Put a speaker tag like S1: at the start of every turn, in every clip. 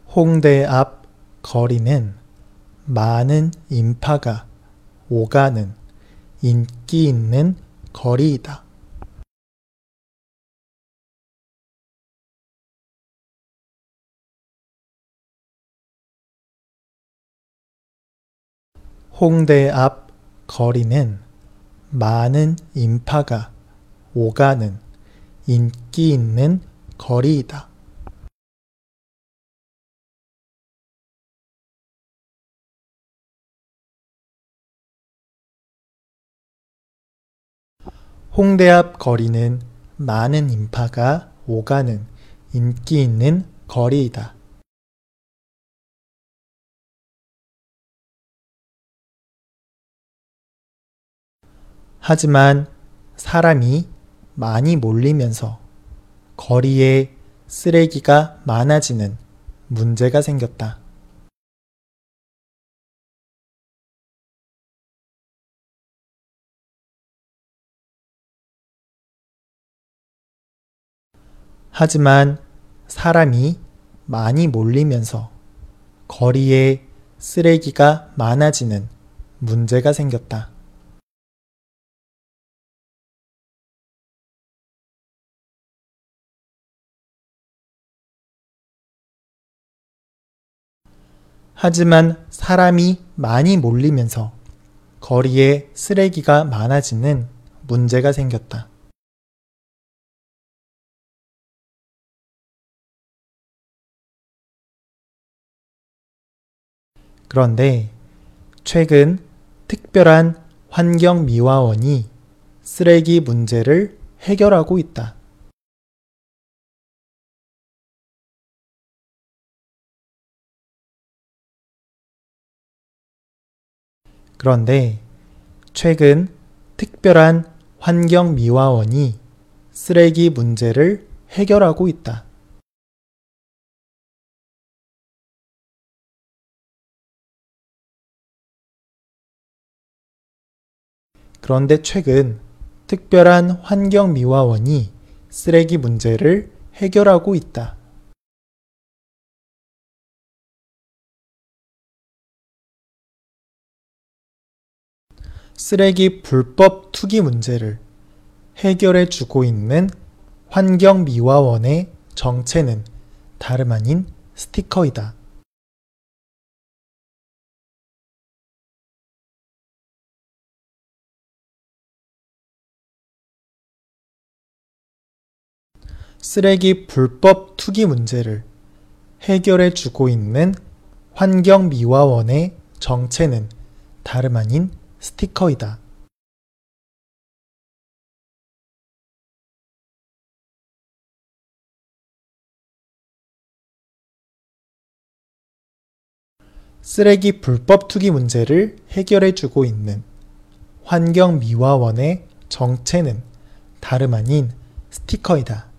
S1: 홍대 앞 거리는 많은 인파가 오가는 인기 있는 거리이다. 홍대 앞 거리는 많은 인파가 오가는 인기 있는 거리이다. 홍대 앞 거리는 많은 인파가 오가는 인기 있는 거리이다. 하지만 사람이 많이 몰리면서 거리에 쓰레기가 많아지는 문제가 생겼다. 하지만 사람이 많이 몰리면서 거리에 쓰레기가 많아지는 문제가 생겼다. 하지만 사람이 많이 몰리면서 거리에 쓰레기가 많아지는 문제가 생겼다. 그런데 최근 특별한 환경미화원이 쓰레기 문제를 해결하고 있다. 그런데 최근 특별한 환경미화원이 쓰레기 문제를 해결하고 있다. 그런데 최근 특별한 환경미화원이 쓰레기 문제를 해결하고 있다. 쓰레기 불법 투기 문제를 해결해 주고 있는 환경미화원의 정체는 다름 아닌 스티커이다. 쓰레기 불법 투기 문제를 해결해 주고 있는 환경미화원의 정체는 다름 아닌 스티커이다. 쓰레기 불법 투기 문제를 해결해 주고 있는 환경미화원의 정체는 다름 아닌 스티커이다.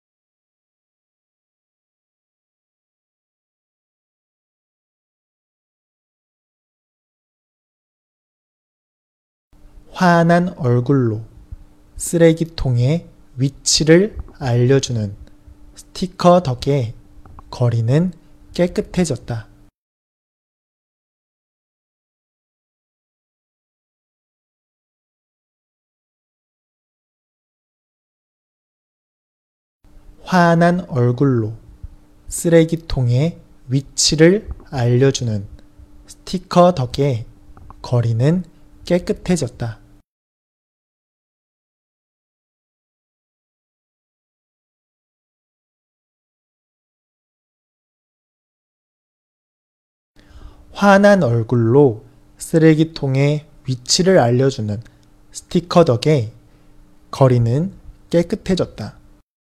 S1: 환한 얼굴로 쓰레기통의 위치를 알려주는 스티커 덕에 거리는 깨끗해졌다. 환한 얼굴로 쓰레기통의 위치를 알려주는 스티커 덕에 거리는 깨끗해졌다. 환한 얼굴로 쓰레기통의 위치를 알려주는 스티커 덕에 거리는 깨끗해졌다.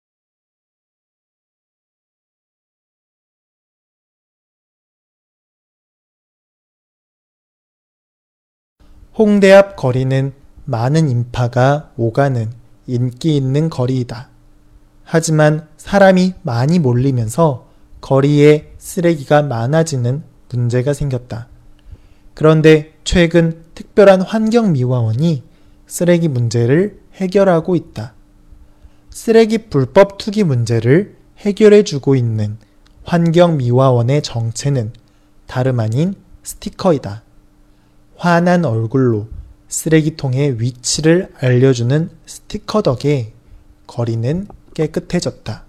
S1: 홍대 앞 거리는 많은 인파가 오가는 인기 있는 거리이다. 하지만 사람이 많이 몰리면서 거리에 쓰레기가 많아지는 문제가 생겼다. 그런데 최근 특별한 환경미화원이 쓰레기 문제를 해결하고 있다. 쓰레기 불법 투기 문제를 해결해 주고 있는 환경미화원의 정체는 다름 아닌 스티커이다. 화난 얼굴로 쓰레기통의 위치를 알려주는 스티커 덕에 거리는 깨끗해졌다.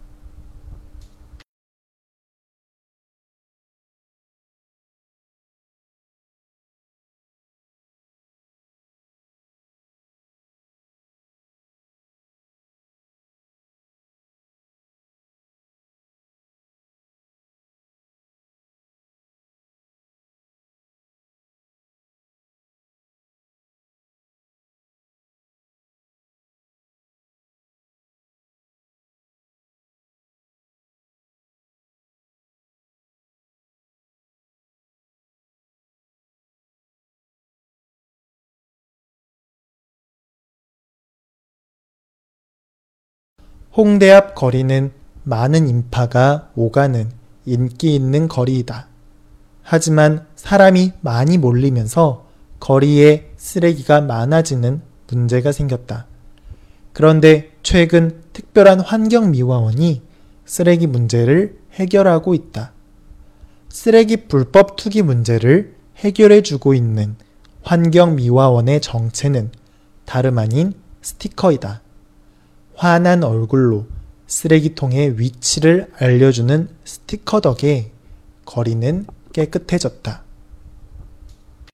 S1: 홍대 앞 거리는 많은 인파가 오가는 인기 있는 거리이다. 하지만 사람이 많이 몰리면서 거리에 쓰레기가 많아지는 문제가 생겼다. 그런데 최근 특별한 환경미화원이 쓰레기 문제를 해결하고 있다. 쓰레기 불법 투기 문제를 해결해주고 있는 환경미화원의 정체는 다름 아닌 스티커이다. 화난 얼굴로 쓰레기통의 위치를 알려주는 스티커 덕에 거리는 깨끗해졌다.